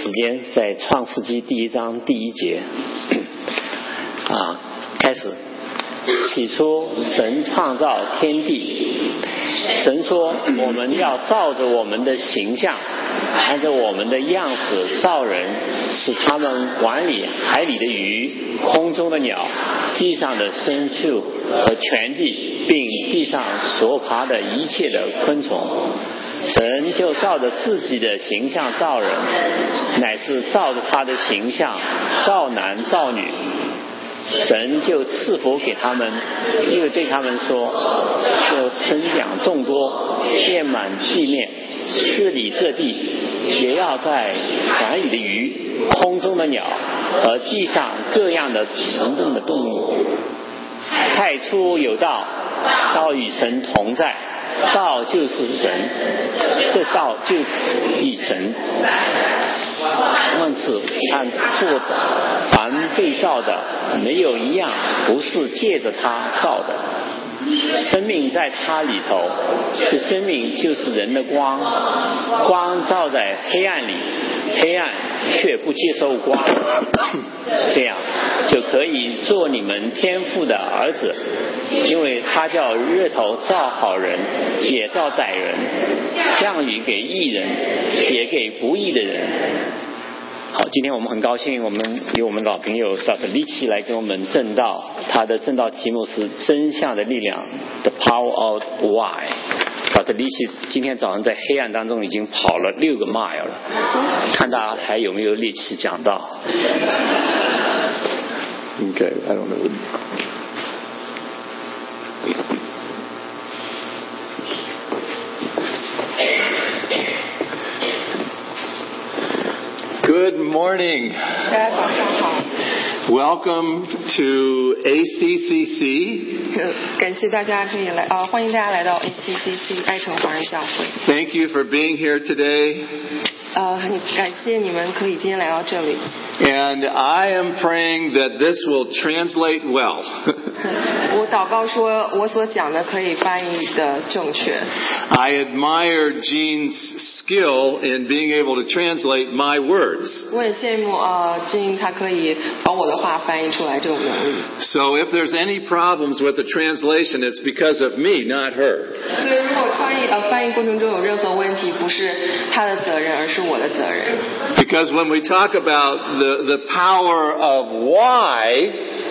时间在创世纪第1章第1节开始。起初神创造天地，神说我们要照着我们的形象，按照我们的样式造人，使他们管理海里的鱼、空中的鸟、地上的牲畜和全地，并地上所爬的一切的昆虫。神就照着自己的形象造人，乃是照着他的形象造男造女。神就赐福给他们，又对他们说，就生养众多，遍满地面，治理这地，也要在海里的鱼、空中的鸟和地上各样的行动的动物。太初有道，道与神同在，道就是神，这道就是与神。万事按做的，凡被造的，没有一样不是借着他造的。生命在他里头，这生命就是人的光，光照在黑暗里，黑暗却不接受光，这样就可以做你们天父的儿子，因为他叫日头照好人，也照歹人，降雨给义人，也给不义的人。好，今天我们很高兴，我们有我们老朋友 Dr. 李奇来跟我们证道，他的证道题目是真相的力量 The Power of Why。 Dr. 李奇今天早上在黑暗当中已经跑了6个 mile 了，看大家还有没有力气讲道。Okay, I don't know. Good morning. 大家早上好。 Welcome to ACCC. 感谢大家可以来欢迎大家来到 ACCC 爱城华人教会。 Thank you for being here today. 很感谢你们可以今天来到这里。 And I am praying that this will translate well. 我祷告说我所讲的可以翻译的正确。 I admire Jean's skill in being able to translate my words. 我很羡慕Jean 他可以把我的话翻译出来这种能力。 So if there's any problems with the translation, it's because of me, not her. 所以如果翻译过程中有任何问题，不是他的责任，而是我的责任。 Because when we talk about the power of why,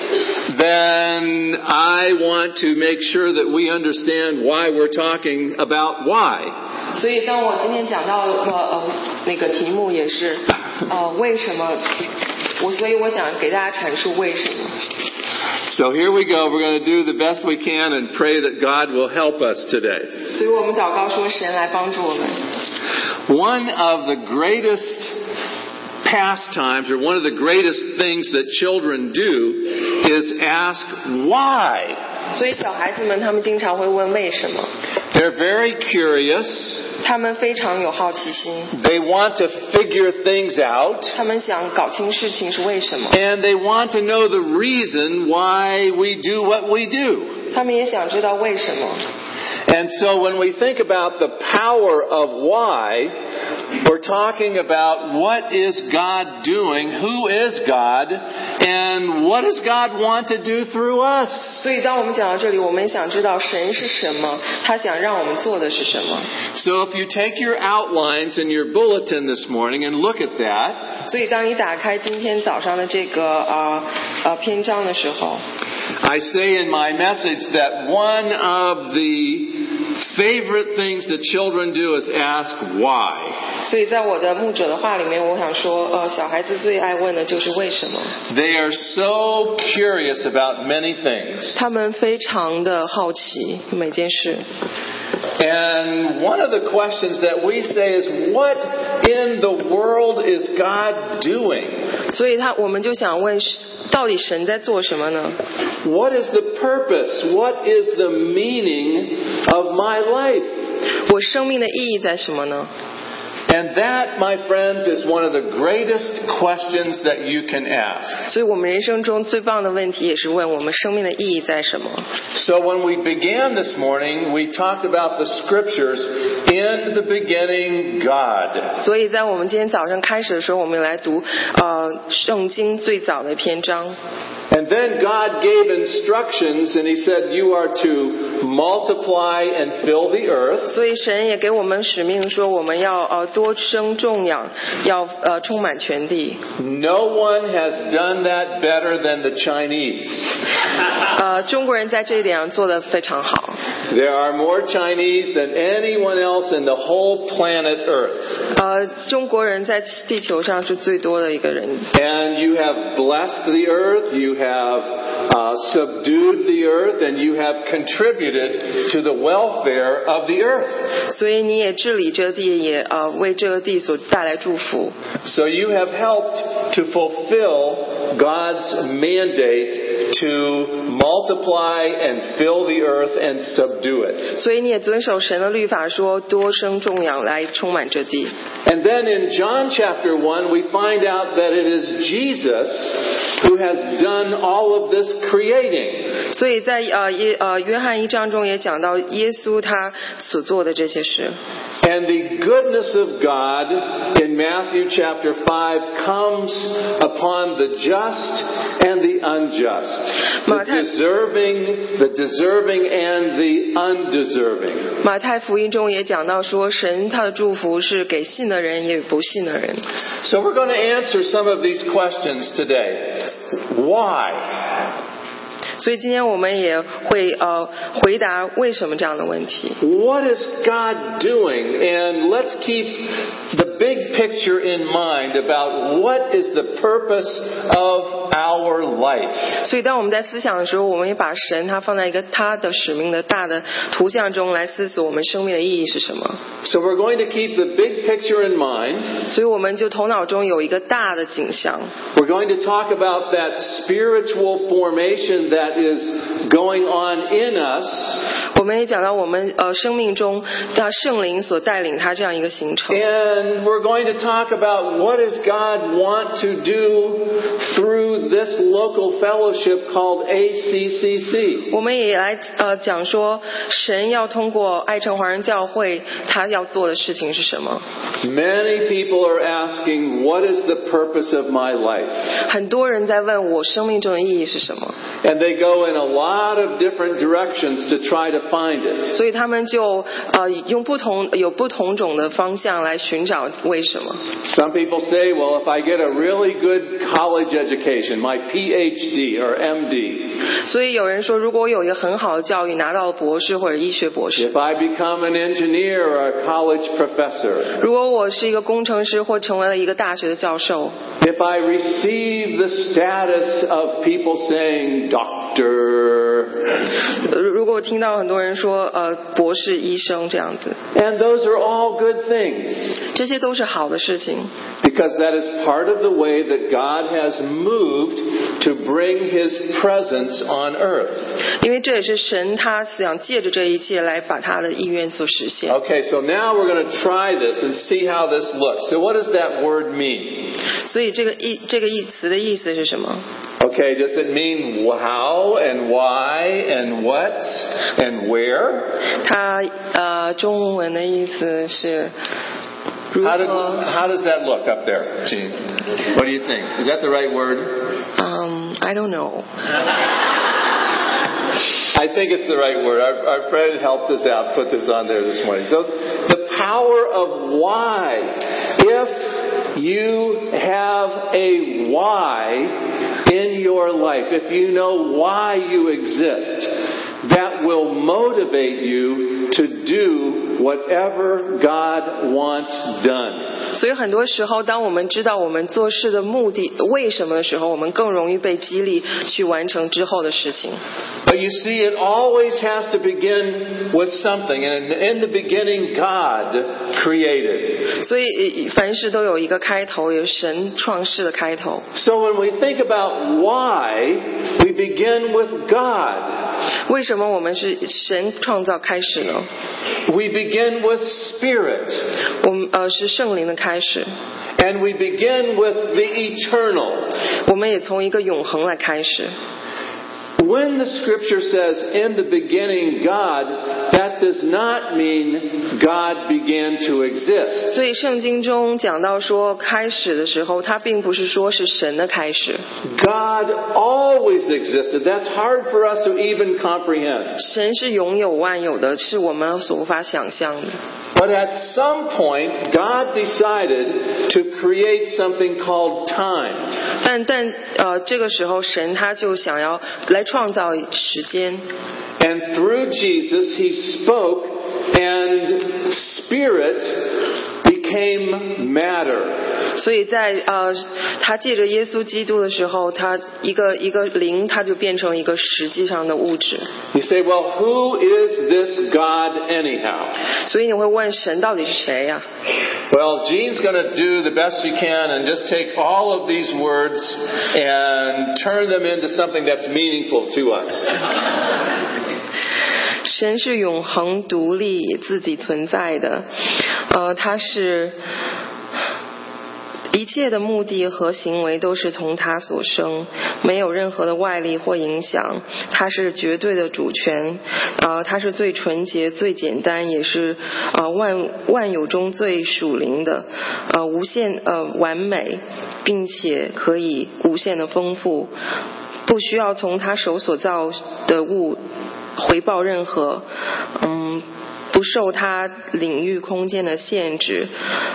then I want to make sure that we understand why we're talking about why. 所以当我今天讲到那个题目也是为什么，所以我想给大家阐述为什么。 So here we go. We're going to do the best we can and pray that God will help us today. 所以我们祷告说神来帮助我们。 One of the greatest pastimes, or one of the greatest things that children do, is ask why. 所以小孩子们他们经常会问为什么。 They're very curious. 他们非常有好奇心。 They want to figure things out. 他们想搞清事情是为什么。 And they want to know the reason why we do what we do. 他们也想知道为什么。 And so when we think about the power of why, we're talking about what is God doing, who is God, and what does God want to do through us. 所以当我们讲到这里，我们想知道神是什么，他想让我们做的是什么。 So if you take your outlines in your bulletin this morning and look at that, 所以当你打开今天早上的这个篇章的时候， I say in my message that one of the favorite things that children do is ask why. 所以在我的牧者的话里面，我想说小孩子最爱问的就是为什么。 They are so curious about many things. 他们非常的好奇每件事。 And one of the questions that we say is, what in the world is God doing? 所以我们就想问，到底神在做什么呢？ What is the purpose? What is the meaning of my life? 我生命的意义在什么呢？ And that, my friends, is one of the greatest questions that you can ask. 所以我们人生中最棒的问题也是问我们生命的意义在什么。 So when we began this morning, we talked about the scriptures. In the beginning, God. 所以在我们今天早上开始的时候，我们来读圣经最早的篇章。 And then God gave instructions and He said, you are to multiply and fill the earth. 所以神也给我们使命说，我们要多生众养，要充满全地。 No one has done that better than the Chinese. 中国人在这一点上做得非常好。 There are more Chinese than anyone else in the whole planet Earth. 中国人在地球上是最多的一个人。 And you have blessed the earth, you have subdued the earth, and you have contributed to the welfare of the earth. 所以你也治理这地，也为这个地所带来祝福。 So you have helped to fulfill God's mandate to multiply and fill the earth and subdue it. 所以你也遵守神的律法，说多生众养来充满这地。 And then in John chapter 1, we find out that it is Jesus who has done all of this creating. 所以在约翰1章中也讲到耶稣他所做的这些事。 And the goodness of God in Matthew chapter 5 comes upon the just and the unjust, the deserving and the undeserving. 马太福音中也讲到说，神他的祝福是给信的人也不信的人。 So we're going to answer some of these questions today. Why? 所以今天我们也会回答为什么这样的问题。 What is God doing? And let's keep the big picture in mind about what is the purpose of our life. 所以当我们在思想的时候，我们也把神他放在一个他的使命的大的图像中来思索我们生命的意义是什么。 So we're going to keep the big picture in mind. 所以我们就头脑中有一个大的景象。 We're going to talk about that spiritual formation that is going on in us. 我们也讲到我们生命中的圣灵所带领他这样一个行程。 And we're going to talk about what does God want to do through this local fellowship called ACCC. 我们也来讲说神要通过爱城华人教会他要做的事情是什么。 Many people are asking, what is the purpose of my life? 很多人在问我生命中的意义是什么。 And they go in a lot of different directions to try to find it. 所以他们就用不同种的方向来寻找为什么。 Some people say, well, if I get a really good college education, my PhD or MD. 所以有人说，如果我有一个很好的教育，拿到了博士或者医学博士， If I become an engineer or a college professor. 如果我是一个工程师或成为了一个大学的教授， If I receive the status of people saying doctor. 如果我听到很多人说博士、医生这样子， And those are all good things. 这些都是好的事情。 Because that is part of the way that God has moved to bring His presence on earth. 因为这也是神他想借着这一切来把他的意愿所实现。 Okay, so now we're going to try this and see how this looks. So what does that word mean? 所以这个词的意思是什么？ Okay, does it mean how and why and what and where? 它中文的意思是如 How 何 does that look up there, Jean? What do you think? Is that the right word? I don't know. I think it's the right word. Our friend helped us out, put this on there this morning. So the power of why. If you have a why in your life, if you know why you exist, that will motivate you to do whatever God wants done. 所以很多时候当我们知道我们做事的目的为什么的时候，我们更容易被激励去完成之后的事情。 But you see, it always has to begin with something. And in the beginning, God created. 所以凡事都有一个开头，有神创世的开头。 So when we think about why, we begin with God. 为什么我们是神创造开始呢？ We begin with Spirit. 我们是圣灵的开始， And we begin with the eternal. 我们也从一个永恒来开始。 When the scripture says, in the beginning God, that does not mean God began to exist. 所以圣经中讲到说开始的时候，它并不是说是神的开始， God always existed. That's hard for us to even comprehend. 神是永有万有的，是我们所无法想象的。 But at some point, God decided to create something called time. 但这个时候神他就想要来创造时间， And through Jesus, He spoke, and Spirit became matter. 所以在他借着耶稣基督的时候，他一个灵，他就变成一个实际上的物质。 You say, well, who is this God anyhow? 所以你会问神到底是谁呀？ Well, Jean's going to do the best she can and just take all of these words and turn them into something that's meaningful to us. 神是永恒独立自己存在的，他是一切的目的和行为都是从他所生，没有任何的外力或影响，他是绝对的主权，他是最纯洁最简单，也是万有中最属灵的，无限完美，并且可以无限的丰富，不需要从他手所造的物回报任何，不受他领域空间的限制，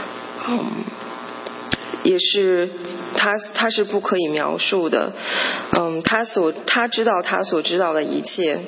也是他是不可以描述的，他知道他所知道的一切。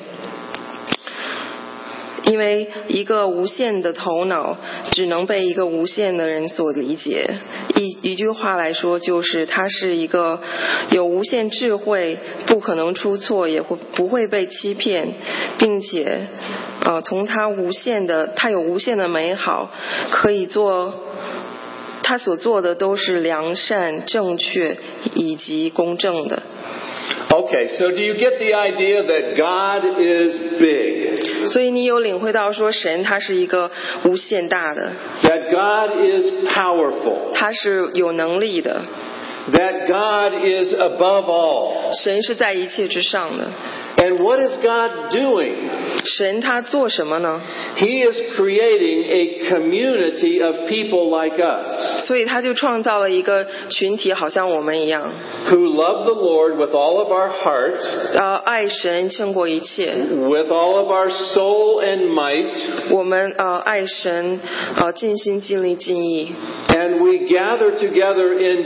因为一个无限的头脑只能被一个无限的人所理解，一句话来说，就是他是一个有无限智慧，不可能出错，也不会被欺骗，并且从他有无限的美好，可以做他所做的都是良善、正确以及公正的。 Okay, so do you get the idea that God is big? 所以你有领会到说神他是一个无限大的， That God is powerful? 他是有能力的， That God is above all? 神是在一切之上的。 And what is God doing? 神他做什么呢？ He is creating a community of people like us 所以他就创造了一个群体，好像我们一样， who love the Lord with all of our heart, 爱神胜过一切， with all of our soul and might, 我们爱神尽心尽力尽意。 and we gather together in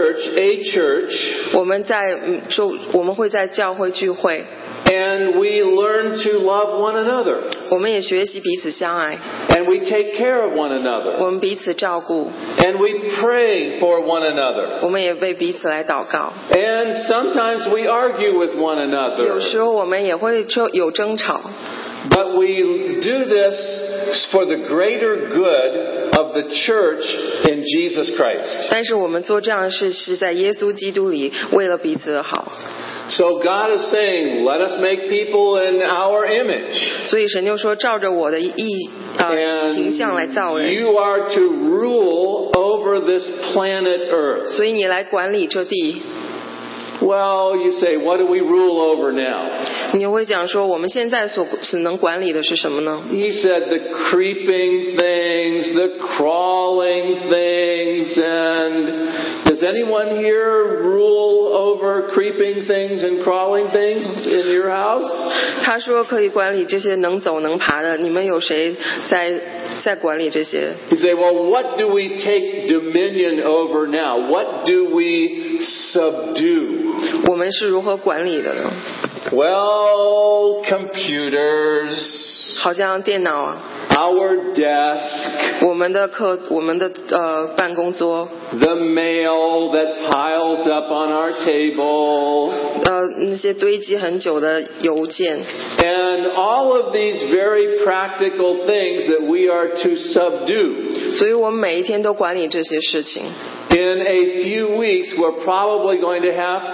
a church, 我们会在教会聚会， and we learn to love one another, 我们也学习彼此相爱， and we take care of one another, 我们彼此照顾， and we pray for one another, 我们也为彼此来祷告。 and sometimes we argue with one 有 another, 时候我们也会有争吵， but we do this for the greater good of the church in Jesus Christ. 但是我们做这样的事是在耶稣基督里，为了彼此的好。 So God is saying, let us make people in our image. 所以神就说，照着我的形象来造 And 人， you are to rule over this planet Earth. 所以你来管理这地。 Well, you say, what do we rule over now? 你会讲说，我们现在所能管理的是什么呢？ He said the creeping things, the crawling things, and does anyone here rule over creeping things and crawling things in your house? 他说可以管理这些能走能爬的，你们有谁在管理这些？ You say, well, what do we take dominion over now? What do we subdue? 我们是如何管理的呢？ Well, computers, 好像电脑啊， our desk, 我们的办公桌， the mail that piles up on our table, 那些堆积很久的邮件， and all of these very practical things that we are to subdue. 所以我们每一天都管理这些事情。 In a few weeks, we're probably going to have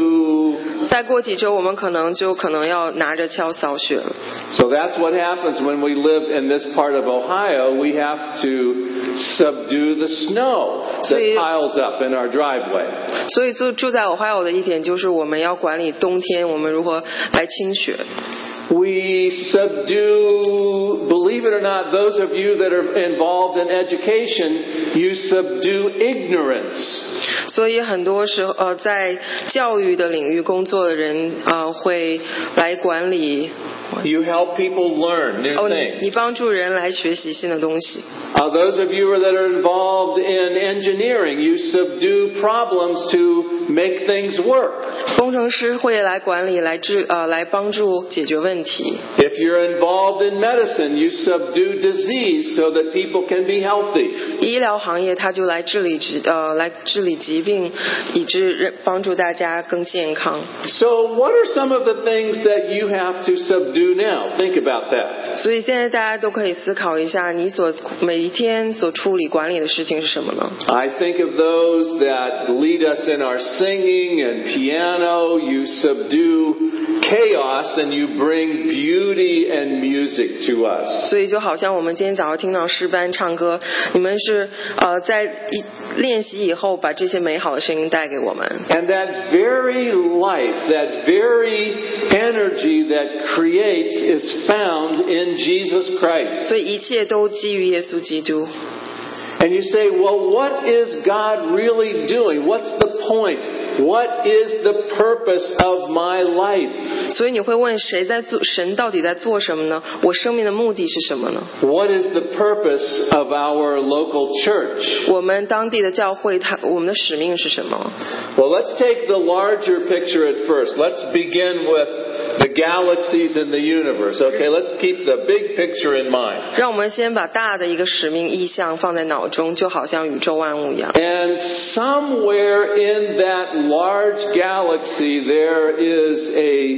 to. 再过几周，我们可能要拿着锹扫雪了。 So that's what happens when we live in this part of Ohio. We have to subdue the snow that piles up in our driveway. 所以住在Ohio的一点就是我们要管理冬天，我们如何来清雪。 We subdue, believe it or not, those of you that are involved in education, you subdue ignorance. 所以很多时候在教育的领域工作的人会来管理。 You help people learn new things. 你帮助人来学习新的东西。 Those of you that are involved in engineering, you subdue problems to make things work. 工程师会来管理，来帮助解决问题。 If you're involved in medicine, you subdue disease so that people can be healthy. 医疗行业他就来治理疾病，以致帮助大家更健康。 So what are some of the things that you have to subdue now? Think about that. 所以现在大家都可以思考一下，你每一天所处理管理的事情是什么呢？ I think of those that lead us in our singing and piano. You subdue chaos and you bring beauty and music to us. 所以就好像我们今天早上听到诗班唱歌，你们是在练习以后把这些美好的声音带给我们。 And that very life, that very energy that creates is found in Jesus Christ. 所以一切都基于耶稣基督。 And you say, well, what is God really doing? What's the point? What is the purpose of my life? 所以你会问神到底在做什么呢？我生命的目的是什么呢？ What is the purpose of our local church? 我们当地的教会，我们的使命是什么？ Well, let's take the larger picture at first. Let's begin with the galaxies in the universe. Okay, let's keep the big picture in mind. 让我们先把大的一个使命意象放在脑中，就好像宇宙万物一样。 And somewhere in that large galaxy there is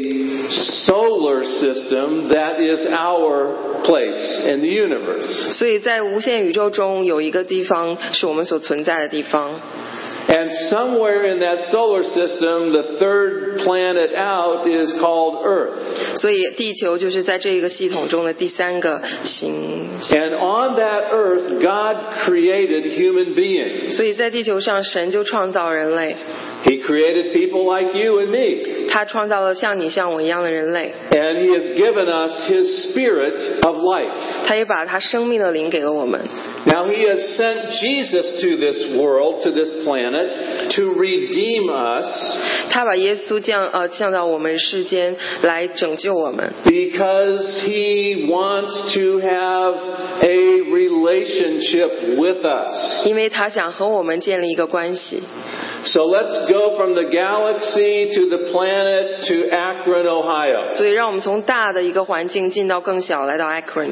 a solar system that is our place in the universe. 所以在无限宇宙中有一个地方是我们所存在的地方。 And somewhere in that solar system, the third planet out is called Earth. 所以地球就是在这个系统中的第三个行星。 And on that Earth, God created human beings. 所以在地球上，神就创造人类。 He created people like you and me. 他创造了像你像我一样的人类。 And He has given us His Spirit of life. 他也把他生命的灵给了我们。 Now He has sent Jesus to this world, to this planet, to redeem us. 他把耶稣降到我们世间来拯救我们。 Because He wants to have a relationship with us. 因为他想和我们建立一个关系。 So let's go from the galaxy to the planet to Akron, Ohio. 所以让我们从大的一个环境进到更小，来到 Akron。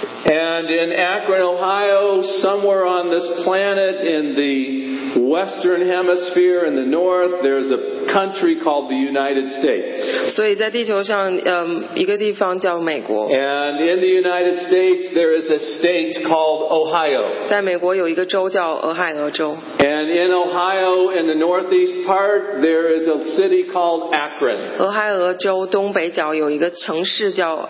And in Akron, Ohio, somewhere on this planet in the western hemisphere in the north, there's a country called the United States. 所以在地球上，一个地方叫美国。 And in the United States, there is a state called Ohio. 在美国有一个州叫俄亥俄州。 And in Ohio, in the northeast part, there is a city called Akron. 俄亥俄州东北角有一个城市叫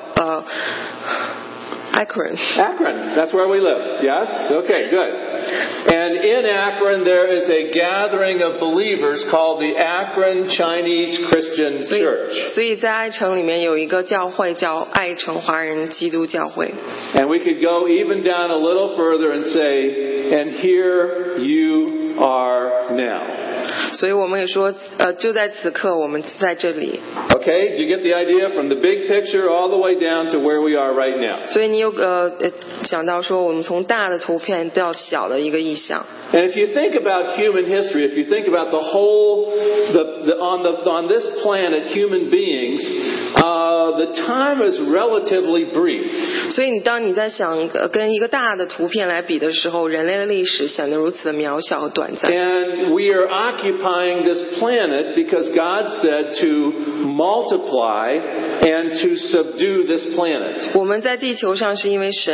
Akron. Akron, that's where we live. Yes? Okay, good. And in Akron, there is a gathering of believers called the Akron Chinese Christian Church. 所以在爱城里面有一个教会叫爱城华人基督教会。 And we could go even down a little further and say, and here you are now. 所以我们也说，就在此刻，我们在这里。 Okay, do you get the idea from the big picture all the way down to where we are right now? 所以你有想到说，我们从大的图片到小的一个意象。 And if you think about human history, if you think about the whole, on this planet, human beings, the time is relatively brief. 所以当你在想跟一个大的图片来比的时候，人类的历史显得如此的渺小和短暂。 And we are occupying this planet because God said to multiply and to subdue this planet. 我们在地球上是因为神说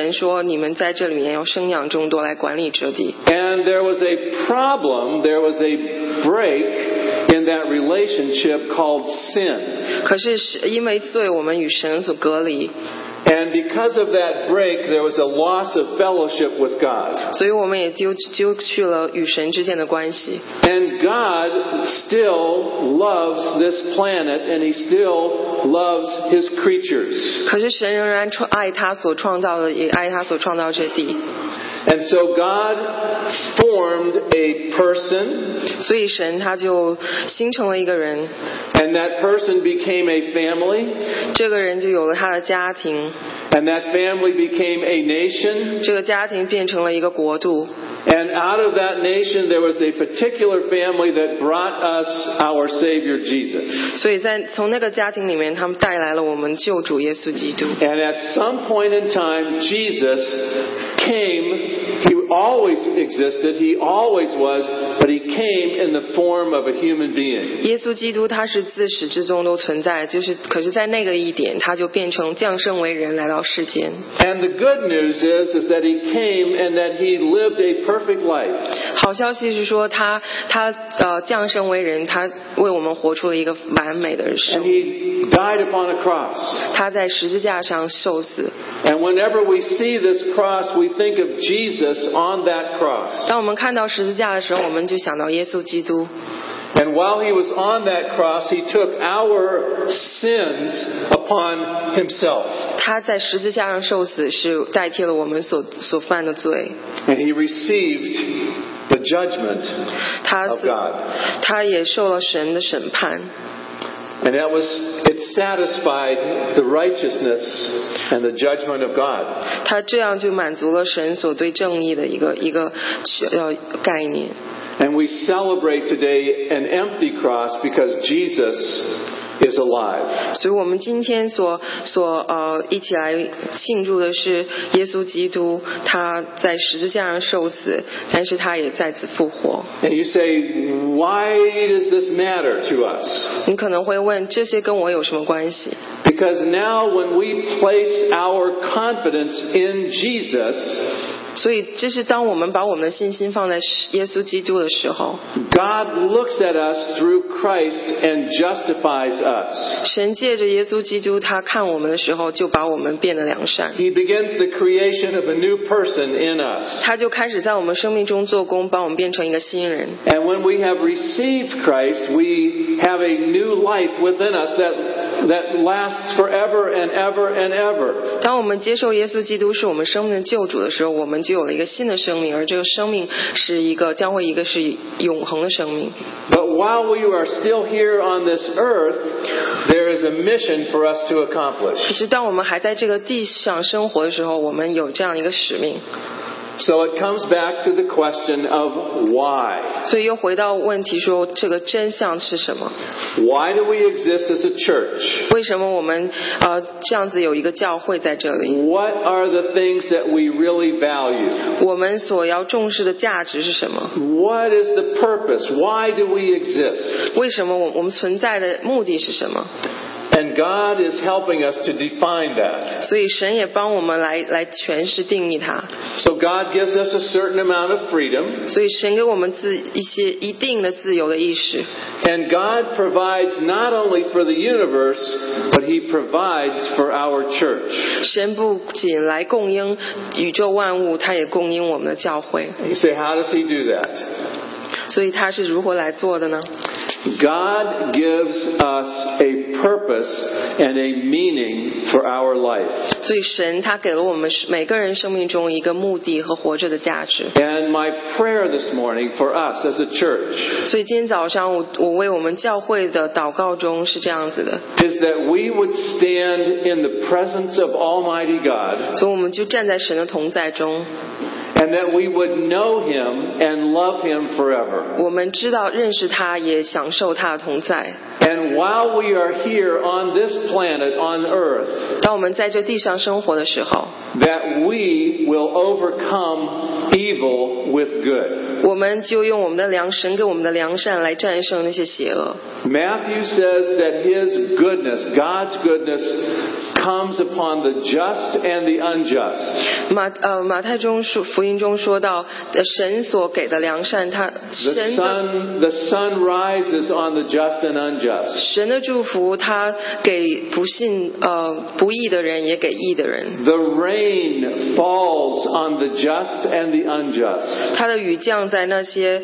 你们在这里面要生养众多，来管理这地。 And there was a problem, there was a break in that relationship called sin. 可是因为罪，我们与神所隔离， And because of that break, there was a loss of fellowship with God. 所以我们也丢去了与神之间的关系。 And God still loves this planet, and He still loves His creatures. 可是神仍然爱他所创造的，也爱他所创造这地。 And so God formed a person, 所以神他就形成了一个人， and that person became a family, 这个人就有了他的家庭， and that family became a nation. 这个家庭变成了一个国度。 And out of that nation, there was a particular family that brought us our Savior Jesus. 所以从那个家庭里面，他们带来了我们救主耶稣基督。 And at some point in time, Jesus came. He always existed. He always was. But He came in the form of a human being. 耶稣基督他是自始至终都存在，可是在那个一点，他就变成降生为人来到世间。 And the good news is that He came and that He lived a perfect life. 好消息是说他降生为人，他为我们活出了一个完美的人 And 生。 He died upon a cross. 他在十字架上受死。 And whenever we see this cross, we think of Jesus on that cross. 当我们看到十字架的时候，我们就想到耶稣基督。 And while He was on that cross, He took our sins upon Himself. 他在十字架上受死，是代替了我们所犯的罪。 And He received the judgment 他 of God. 他也受了神的审判。 And it satisfied the righteousness and the judgment of God. 他这样就满足了神所对正义的一个概念。 And we celebrate today an empty cross because Jesus is alive. 所以我们今天一起来庆祝的是耶稣基督，他在十字架上受死，但是他也再次复活。 And you say, why does this matter to us? 你可能会问，这些跟我有什么关系？ Because now when we place our confidence in Jesus, 所以这是当我们把我们的信心放在耶稣基督的时候， God looks at us through Christ and justifies us. 神借着耶稣基督他看我们的时候，就把我们变得良善。 He begins the creation of a new person in us. 他就开始在我们生命中做工，把我们变成一个新人。 And when we have received Christ, we have a new life within us that lasts forever and ever and ever. 当我们接受耶稣基督是我们生命的救主的时候，我们就有了一个新的生命，而这个生命将会是永恒的生命。 But while we are still here on this earth, there is a mission for us to accomplish. 可是当我们还在这个地上生活的时候，我们有这样一个使命。 So it comes back to the question of why. 所以又回到问题说，这个真相是什么？ Why do we exist as a church? 为什么我们这样子有一个教会在这里？ What are the things that we really value? 我们所要重视的价值是什么？ What is the purpose? Why do we exist? 为什么我们存在的目的是什么？ And God is helping us to define that. 所以神也帮我们来诠释定义它。 So God gives us a certain amount of freedom. 所以神给我们一定的自由的意识。 And God provides not only for the universe, but He provides for our church. 神不仅来供应宇宙万物，他也供应我们的教会。 You say, how does He do that? 所以他是如何来做的呢？ God gives us a purpose and a meaning for our life. 所以神他给了我们每个人生命中一个目的和活着的价值。 And my prayer this morning for us as a church 所以今天早上我为我们教会的祷告中是这样子的， is that we would stand in the presence of Almighty God 所以我们就站在神的同在中， and that we would know Him and love Him forever. 我们知道认识他，也享受他的同在。 And while we are here on this planet, on earth, 当我们在这地上生活的时候， that we will overcome evil with good. 我们就用我们的神给我们的良善来战胜那些邪恶。 Matthew says that His goodness, God's goodness, comes upon the just and the unjust. 马太福音中说到，神所给的良善，他 The sun rises on the just and unjust. 神的祝福，他给不义的人，也给义的人。 The rain falls on the just and the unjust. 他的雨降在那些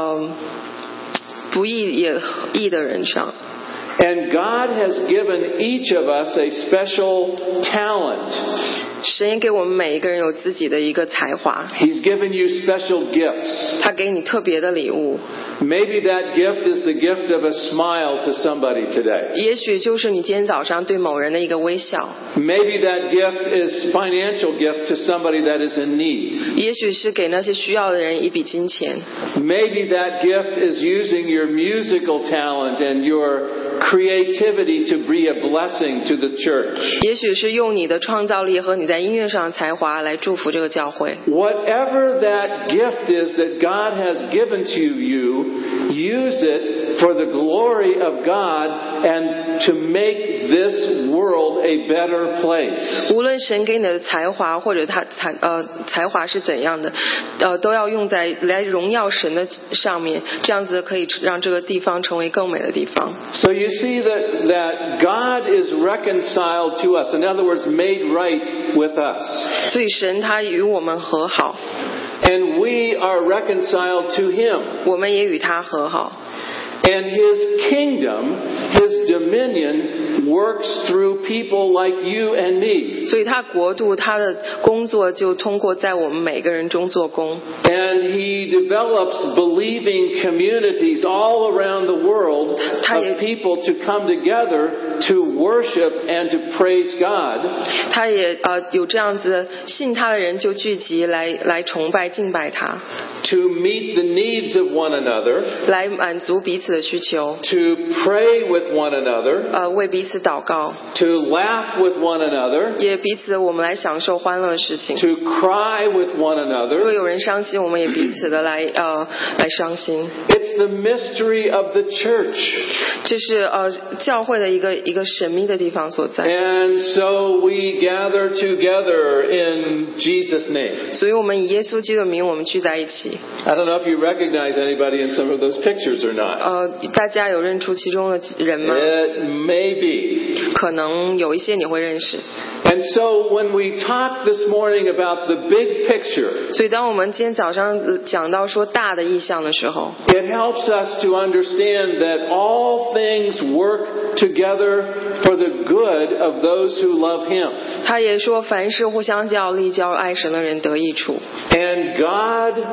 不义也义的人上。 And God has given each of us a special talent. 神也给我们每一个人有自己的一个才华。 He's given you special gifts. 他给你特别的礼物。 Maybe that gift is the gift of a smile to somebody today. 也许就是你今天早上对某人的一个微笑。 Maybe that gift is financial gift to somebody that is in need. 也许是给那些需要的人一笔金钱。 Maybe that gift is using your musical talent and your creativity to be a blessing to the church. 也许是用你的创造力和你在音乐上的才华来祝福这个教会。 Whatever that gift is that God has given to you, use it for the glory of God and to make this world a better place. 无论神给你的才华或者才华是怎样的，都要用在来荣耀神的上面，这样子可以让这个地方成为更美的地方。 So you see that God is reconciled to us. In other words, made right with us. 所以神他与我们和好。 And we are reconciled to Him. 我们也与他和好。 And His kingdom, His dominion works through people like you and me. 所以他国度他的工作就通过在我们每个人中做工。 And He develops believing communities all around the world of people to come together to worship and to praise God. 他也有这样子信他的人就聚集来崇拜敬拜他。 To meet the needs of one another. 来满足彼此的需求。 To pray with one another. 为彼此祷告。 To laugh with one another. 也彼此我们来享受欢乐的事情。 To cry with one another. 若有人伤心，我们也彼此的来伤心。 It's the mystery of the church. 这是教会的一个神秘的地方所在。 And so we gather together in Jesus' name. 所以我们以耶稣基督的名，我们聚在一起。 I don't know if you recognize anybody in some of those pictures or not. 大家有认出其中的人吗？ It may be. 可能有一些你会认识。 And so when we talk this morning about the big picture, 所以当我们今天早上讲到说大的意象的时候， it helps us to understand that all things work together for the good of those who love Him. 他也说凡事互相效力，叫爱神的人得益处。 And God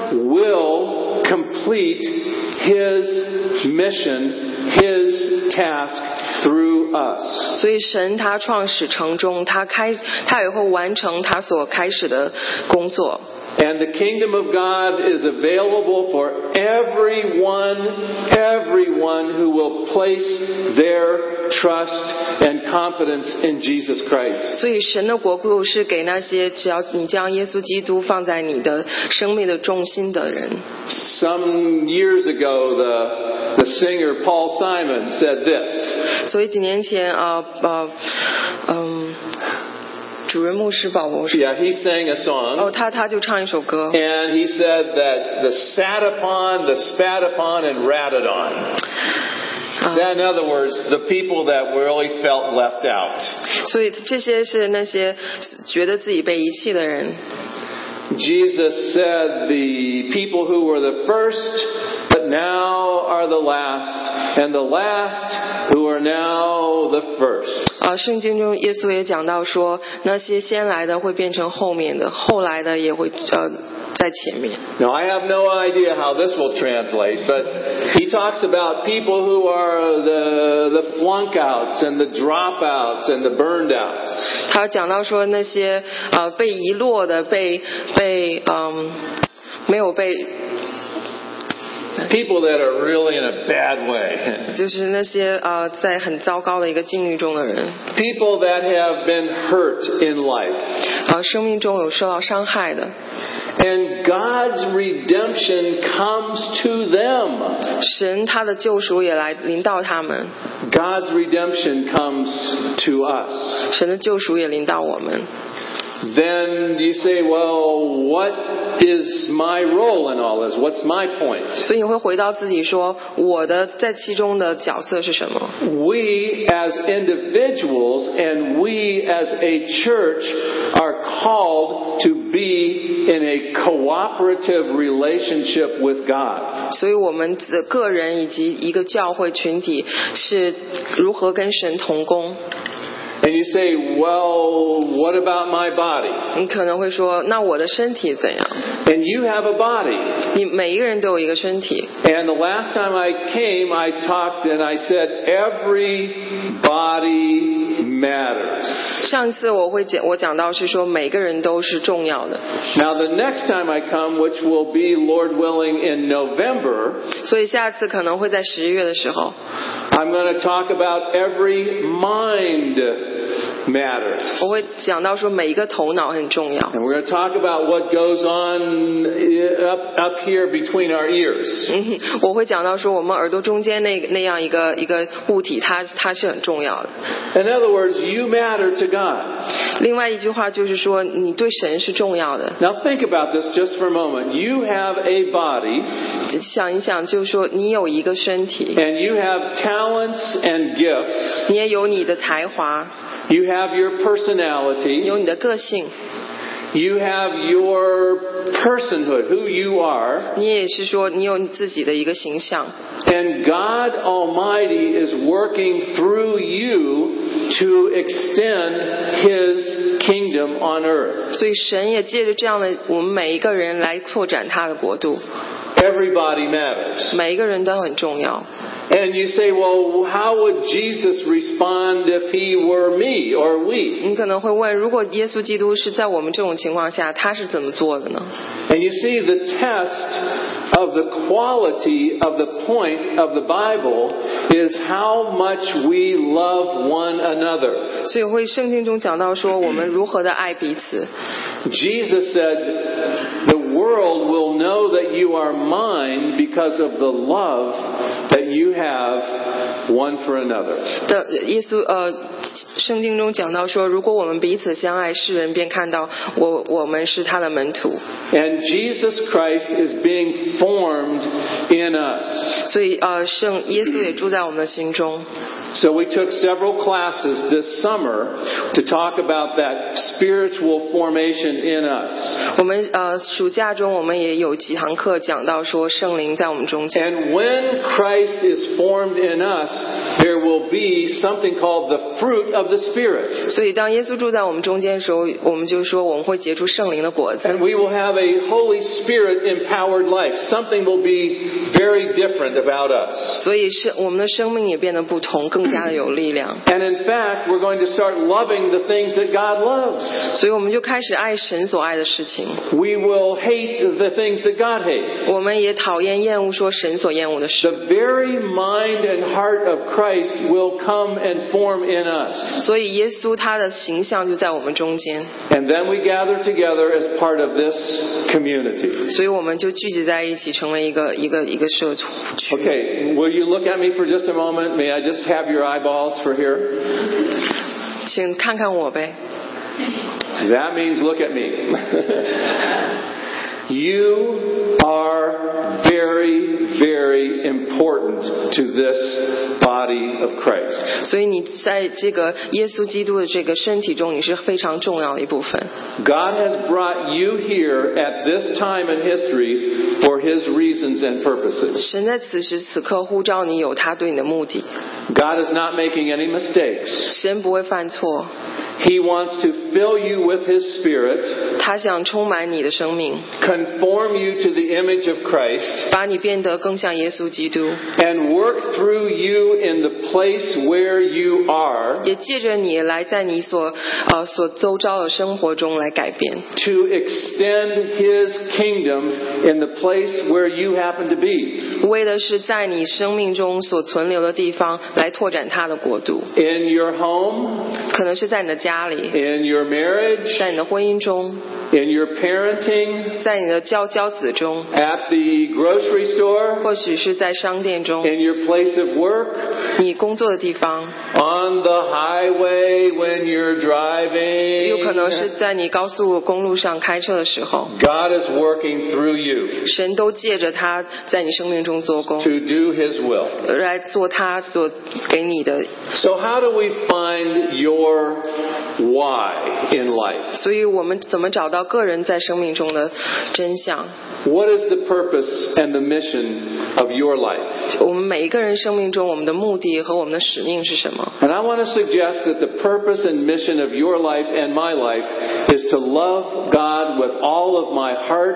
will complete His mission, His task through us. 所以神他创始成终，他也会完成他所开始的工作。 And the kingdom of God is available for everyone who will place their trust and confidence in Jesus Christ. 所以神的国度是给那些只要你将耶稣基督放在你的生命的重心的人。 Some years ago, the singer Paul Simon said this. 所以几年前主任牧师保罗说 Yeah, he sang a song. 他就唱一首歌。 And he said that the sat upon, the spat upon, and ratted on. In other words, the people that really felt left out. 所以这些是那些觉得自己被遗弃的人。 Jesus said the people who were the first, but now are the last, and the last who are now the first. 圣经中耶稣也讲到说，那些先来的会变成后面的，后来的也会在前面。 Now I have no idea how this will translate, but he talks about people who are the flunk outs and the dropouts and the burned outs. 他讲到说那些被遗落的，没有被。 People that are really in a bad way. 就是那些在很糟糕的一个境遇中的人。 People that have been hurt in life. 生命中有受到伤害的。 And God's redemption comes to them. 神他的救赎也来临到他们， God's redemption comes to us. 神的救赎也临到我们。 Then you say, well, what is my role in all this? What's my point? 所以你会回到自己说，我的在其中的角色是什么？ We as individuals and we as a church are called to be in a cooperative relationship with God. 所以我们的个人以及一个教会群体是如何跟神同工。 And you say, well, what about my body? 你可能会说，那我的身体怎样？ And you have a body. 你每一个人都有一个身体。 And the last time I came, I talked and I said, every body matters. 上次我讲到是说每个人都是重要的。 Now the next time I come, which will be, Lord willing, in November, 所以下次可能会在11月的时候， I'm going to talk about every mind matters. 我会讲到说每一个头脑很重要。 And we're going to talk about what goes on up here between our ears. 我会讲到说我们耳朵中间那样一个物体，它是很重要的。 In other words, you matter to God. 另外一句话就是说，你对神是重要的。 Now think about this just for a moment. You have a body. 想一想，就是说你有一个身体， And you have talents and gifts. 你也有你的才华， You have your personality. 有你的个性， You have your personhood, who you are. 你也是说你有你自己的一个形象。 And God Almighty is working through you to extend His kingdom on earth. 所以神也借着这样的我们每一个人来拓展他的国度。 Everybody matters. 每一个人都很重要。 And you say, well, how would Jesus respond if He were me or we? 你可能会问，如果耶稣基督是在我们这种情况下，他是怎么做的呢？ And you see, the test of the quality of the point of the Bible is how much we love one another. 所以圣经中讲到说，我们如何的爱彼此。 Jesus said, the world will know that you are mine because of the love that you have one for another. 圣经中讲到说，如果我们彼此相爱，世人便看到我们是他的门徒。 And Jesus Christ is being formed in us. 所以耶稣也住在我们的心中。 So we took several classes this summer to talk about that spiritual formation in us. 我们暑假中我们也有几堂课讲到说圣灵在我们中间。 And when Christ is formed in us, there will be something called the fruit of the Spirit. 所以当耶稣住在我们中间的时候，我们就说我们会结出圣灵的果子。 And we will have a Holy Spirit empowered life. Something will be very different about us. 所以我们的生命也变得不同，更加的有力量。 And in fact, we're going to start loving the things that God loves. 所以我们就开始爱神所爱的事情。 We will hate the things that God hates. 我们也讨厌厌恶说神所厌恶的事。 The very mind and heart of Christ will come and form in us. 所以耶稣他的形象就在我们中间。 And then we gather together as part of this community. 所以我们就聚集在一起，成为一个社区。 Okay, will you look at me for just a moment? May I just have your eyeballs for here? 请看看我呗。 That means look at me. You are very, very important to this body of Christ. 所以你在这个耶稣基督的这个身体中，你是非常重要的一部分。 God has brought you here at this time in history for His reasons and purposes. 神在此时此刻呼召你，有他对你的目的。 God is not making any mistakes. 神不会犯错， He wants to fill you with His Spirit, 他想充满你的生命， conform you to the image of Christ, 把你变得更像耶稣基督， and work through you in the place where you are 也借着你来在你所周遭的生活中来改变， to extend His kingdom in the place where you happen to be. 为的是在你生命中所存留的地方来拓展他的国度。 In your home, 可能是在你的家里， in your marriage, 在你的婚姻中， in your parenting, 在你的教子中， at the grocery store, 或许是在商店中， in your place of work, 你工作的地方， on the highway when you're driving. 有可能是在你高速公路上开车的时候， God is working through you 神都借着他在你生命中做工， to do His will. 来做他所给你的。 So how do we find your why in life? 所以我们怎么找到个人在生命中的真相？ What is the purpose and the mission of your life? 我们每一个人生命中，我们的目的和我们的使命是什么？ And I want to suggest that the purpose and mission of your life and my life is to love God with all of my heart,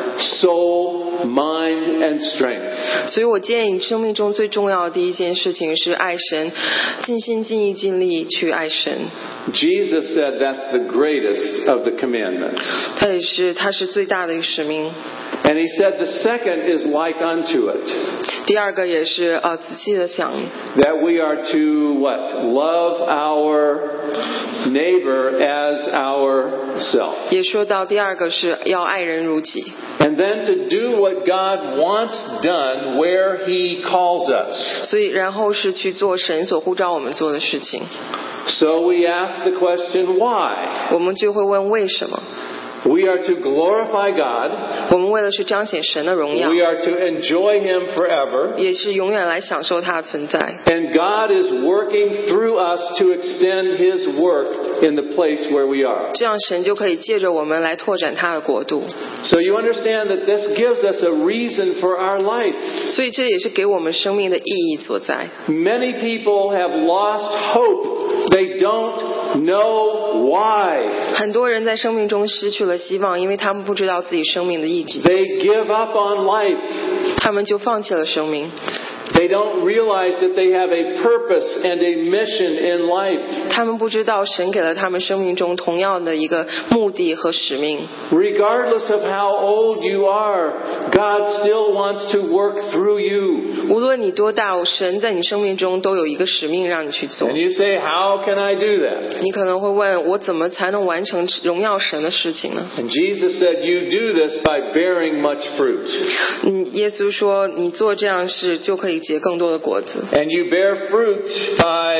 soul, mind, and strength. 所以我建议你生命中最重要的第一件事情是爱神，尽心尽意尽力去爱神。 Jesus said that's the greatest of the commandments. 他是最大的一个使命。 And he said the second is like unto it. 第二个也是仔细的想， That we are to what? Love our neighbor as ourself. 也说到第二个是要爱人如己。 And then to do what God wants done where He calls us. 所以然后是去做神所呼召我们做的事情。 So we ask the question, why? 我们就会问为什么？ We are to glorify God. 我们为了是彰显神的荣耀， We are to enjoy Him forever. 也是永远来享受他的存在。 And God is working through us to extend His work in the place where we are. 这样神就可以借着我们来拓展他的国度。 So you understand that this gives us a reason for our life. 所以这也是给我们生命的意义所在。 Many people have lost hope. They don't know why. 很多人在生命中失去了希望，因为他们不知道自己生命的意义， They give up on life. 他们就放弃了生命。 They don't realize that they have a purpose and a mission in life. 他们不知道神给了他们生命中同样的一个目的和使命。 Regardless of how old you are, God still wants to work through you. 无论你多大，神在你生命中都有一个使命让你去做。 And you say, how can I do that? 你可能会问，我怎么才能完成荣耀神的事情呢？ And Jesus said, you do this by bearing much fruit. 耶稣说，你做这样事就可以结更多的果子。 And you bear fruit by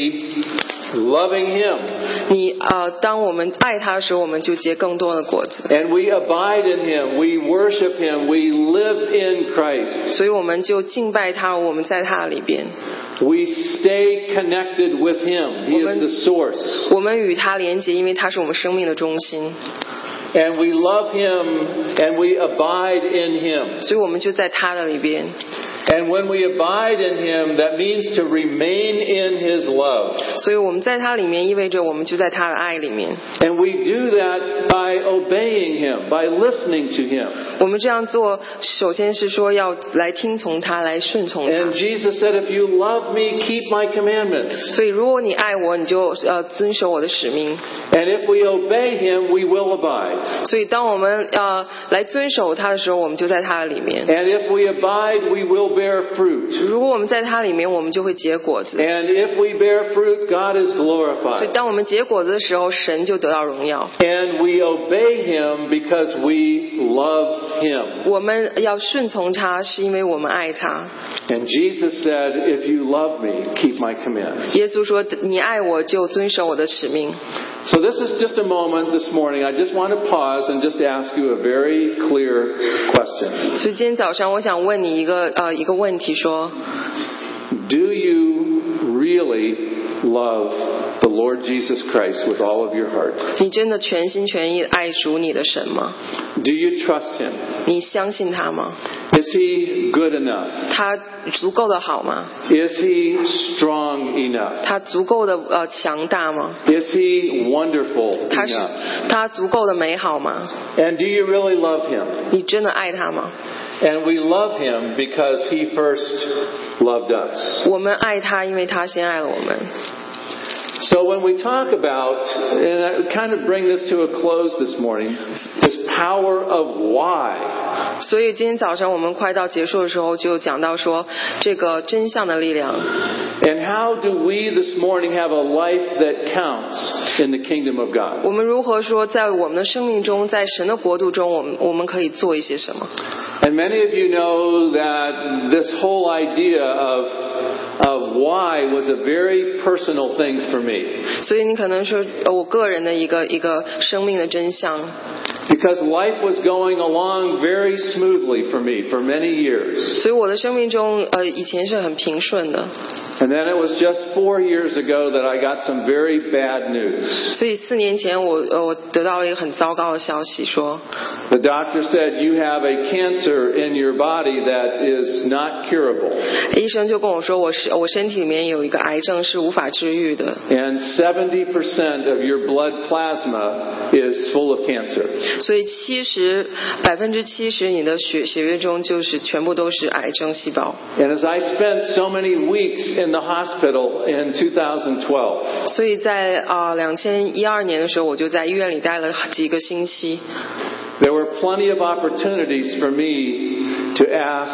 loving Him. 当我们爱他的时候，我们就结更多的果子。 And we abide in Him. We worship Him. We live in Christ. 所以我们就敬拜他，我们在他里边， We stay connected with Him. He is the source. 我们与他连结，因为他是我们生命的中心。 And we love Him and we abide in Him. 所以我们就在他的里边。 And when we abide in Him, that means to remain in His love. 所以我们在他里面，意味着我们就在他的爱里面。 And we do that by obeying Him, by listening to Him. 我们这样做，首先是说要来听从他，来顺从他。 And Jesus said, if you love me, keep my commandments. 所以如果你爱我，你就遵守我的使命。 And if we obey Him, we will abide. 所以当我们来遵守他的时候，我们就在他的里面。 And if we abide, we will bear fruit. 如果我们在他里面，我们就会结果子。 And if we bear fruit, God is 所以 glorified. 当我们结果子的时候，神就得到荣耀。 And we obey Him because we love Him. 我们要顺从他，是因为我们爱他。 And Jesus said, if you love me, keep my commandments. 耶稣说：“你爱我，就遵守我的使命。” So this is just a moment this morning. I just want to pause and just ask you a very clear question. 所以今天早上，我想问你一个问题，说 Do you really love the Lord Jesus Christ with all of your heart? 你真的全心全意爱主你的神吗？ Do you trust Him? 你相信他吗？ Is He good enough? 他足够的好吗？ Is He strong enough? 他足够的强大吗？ Is He wonderful 他 enough? 足够的美好吗？ And do you really love Him? 你真的爱他吗？ And we love Him because He first loved us. 我们爱他，因为他先爱了我们。 So when we talk about, and I kind of bring this to a close this morning, this power of why. 所以今天早上我们快到结束的时候就讲到说这个真相的力量。 And how do we this morning have a life that counts in the kingdom of God? 我们如何说在我们的生命中，在神的国度中，我们可以做一些什么？ And many of you know that this whole idea of why was a very personal thing for me. 所以你可能说我个人的一个生命的真相。 Because life was going along very smoothly for me for many years. 所以我的生命中以前是很平顺的。 And then it was just 4 years ago that I got some very bad news. 所以4年前我得到了一个很糟糕的消息，说 The doctor said you have a cancer in your body that is not curable. 医生就跟我说我身体里面有一个癌症是无法治愈的。 And 70% of your blood plasma is full of cancer. 所以70%你的血液中就是全部都是癌症细胞。 And as I spent so many weeks in the hospital in 2012, 所以在2012年的时候，我就在医院里待了几个星期。 there were plenty of opportunities for me to ask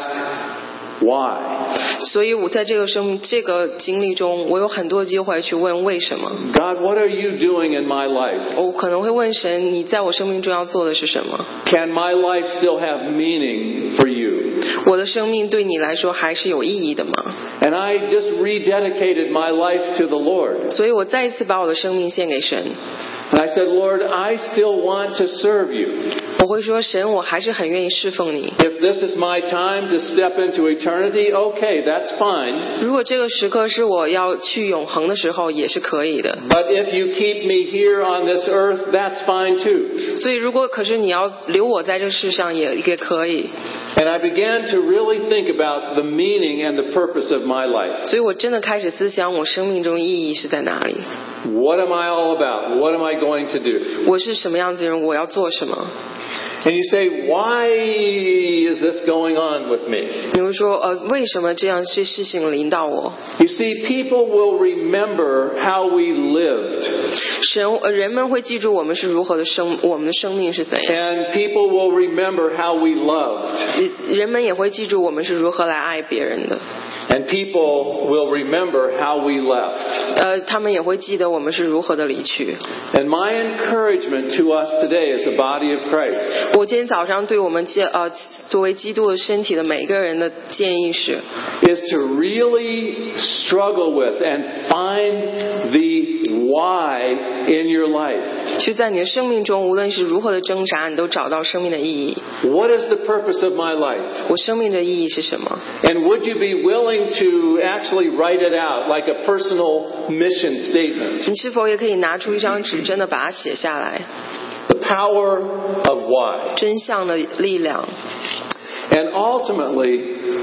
why. 所以我在这个经历中，我有很多机会去问为什么。 God, what are you doing in my life? 我可能会问神，你在我生命中要做的是什么？ Can my life still have meaning for you? 我的生命对你来说还是有意义的吗？ And I just rededicated my life to the Lord. 所以我再一次把我的生命献给神。 And I said, Lord, I still want to serve you. 我会说，神，我还是很愿意侍奉你。 If this is my time to step into eternity, okay, that's fine. 如果这个时刻是我要去永恒的时候，也是可以的。 But if you keep me here on this earth, that's fine too. 所以可是你要留我在这世上也可以。 And I began to really think about the meaning and the purpose of my life. 所以我真的开始思想我生命中意义是在哪里。 What am I all about? What am I going to do? 我是什么样子的人？我要做什么？ And you say, why is this going on with me? 你会说，为什么这样事情临到我？ You see, people will remember how we lived. 人们会记住我们是如何的我们的生命是怎样。 And people will remember how we loved. 人们也会记住我们是如何来爱别人的。 And people will remember how we left. 他们也会记得我们是如何的离去。 And my encouragement to us today as the body of Christ 我今天早上对我们作为基督的身体的每个人的建议是 is to really struggle with and find the why in your life. 去在你的生命中，无论是如何的挣扎，你都找到生命的意义。 What is the purpose of my life? 我生命的意义是什么？ And would you be willing to actually write it out like a personal mission statement? 你是否也可以拿出一张纸，真的把它写下来？ The power of why. 真相的力量。 And ultimately,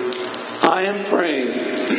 I am praying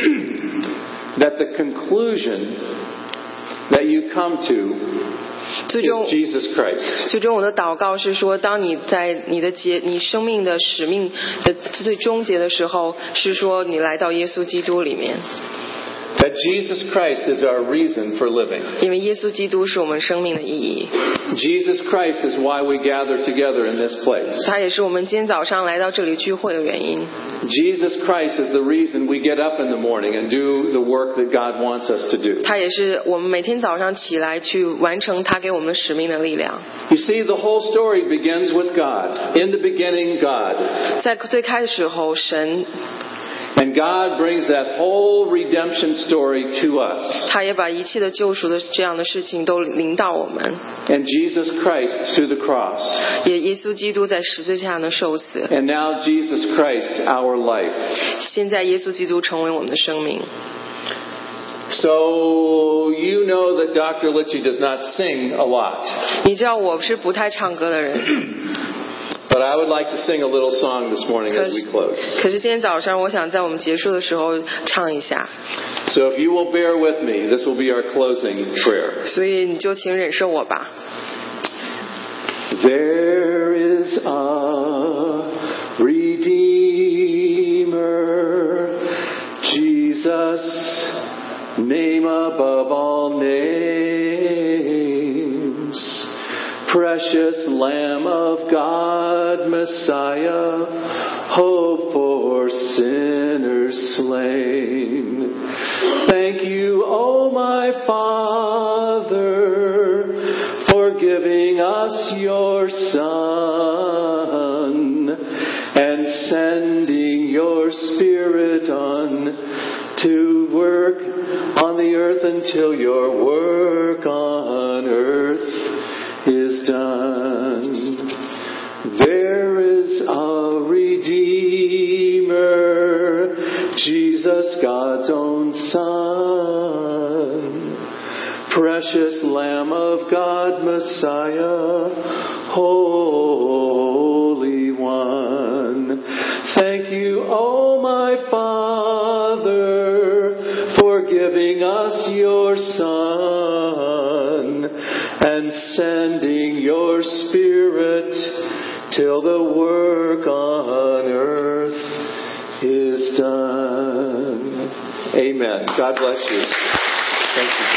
that the conclusion that you come to 最终 is Jesus Christ. 最终我的祷告是说，当你在你生命的使命的最终结的时候，是说你来到耶稣基督里面。 That Jesus Christ is our reason for living. 因为耶稣基督是我们生命的意义。 Jesus Christ is why we gather together in this place. 他也是我们今天早上来到这里聚会的原因。 Jesus Christ is the reason we get up in the morning and do the work that God wants us to do. 他也是我们每天早上起来去完成他给我们的使命的力量。 You see, the whole story begins with God. In the beginning, God. 在最开始的时候，神 And God brings that whole redemption story to us. 他也把一切的救赎的这样的事情都临到我们。 And Jesus Christ to the cross. 也耶稣基督在十字架上的受死。 And now Jesus Christ, our life. 现在耶稣基督成为我们的生命。 So you know that Dr. Litchie does not sing a lot. 你知道我是不太唱歌的人， But I would like to sing a little song this morning as we close. 可是今天早上我想在我们结束的时候唱一下， So if you will bear with me, this will be our closing prayer. 所以你就请忍受我吧。 There is a Redeemer, Jesus, name above all names. Precious Lamb of God, Messiah, hope for sinners slain. Thank you, O my Father, for giving us your Son and sending your Spirit on to work on the earth until your work on earth is done. There is a Redeemer, Jesus, God's own Son. Precious Lamb of God, Messiah, Holy One. Thank you, O my Father, for giving us your Son and sending your Spirit till the work on earth is done. Amen. God bless you. Thank you.